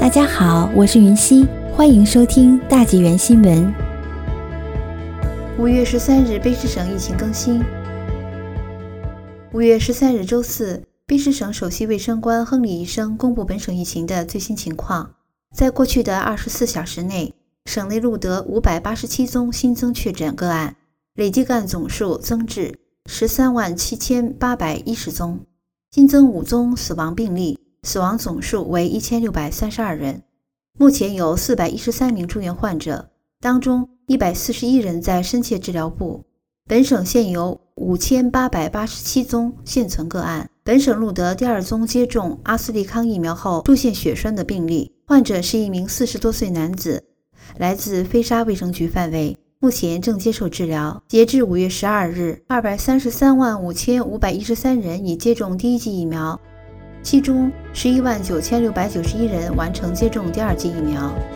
大家好，我是云溪，欢迎收听大纪元新闻。 5月13日，卑诗省疫情更新。5月13日周四，卑诗省首席卫生官亨利医生公布本省疫情的最新情况。在过去的24小时内，省内录得587宗新增确诊个案，累计个案总数增至137810宗，新增5宗死亡病例，死亡总数为1632人。目前有413名住院患者，当中141人在深切治疗部。本省现有5887宗现存个案。本省录得第2宗接种阿斯利康疫苗后出现血栓的病例，患者是一名40多岁男子，来自飞沙卫生局范围，目前正接受治疗。截至5月12日，2335513人已接种第1剂疫苗，其中119691人完成接种第2剂疫苗。